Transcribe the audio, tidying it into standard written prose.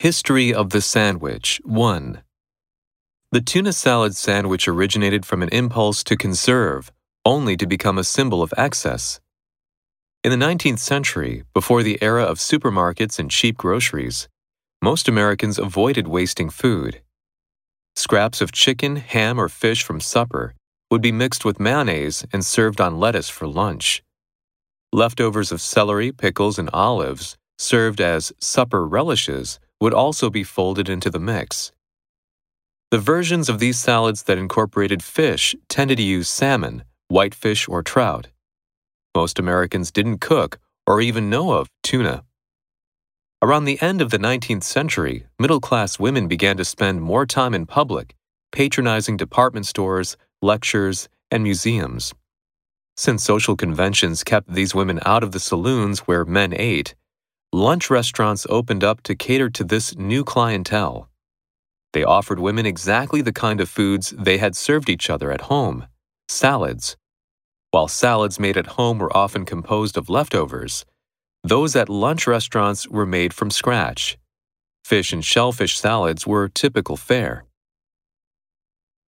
History of the Sandwich 1. The tuna salad sandwich originated from an impulse to conserve, only to become a symbol of excess. In the 19th century, before the era of supermarkets and cheap groceries, most Americans avoided wasting food. Scraps of chicken, ham, or fish from supper would be mixed with mayonnaise and served on lettuce for lunch. Leftovers of celery, pickles, and olives, served as supper relishes, would also be folded into the mix. The versions of these salads that incorporated fish tended to use salmon, whitefish, or trout. Most Americans didn't cook or even know of tuna. Around the end of the 19th century, middle-class women began to spend more time in public, patronizing department stores, lectures, and museums. Since social conventions kept these women out of the saloons where men ate, lunch restaurants opened up to cater to this new clientele. They offered women exactly the kind of foods they had served each other at home, salads. While salads made at home were often composed of leftovers, those at lunch restaurants were made from scratch. Fish and shellfish salads were typical fare.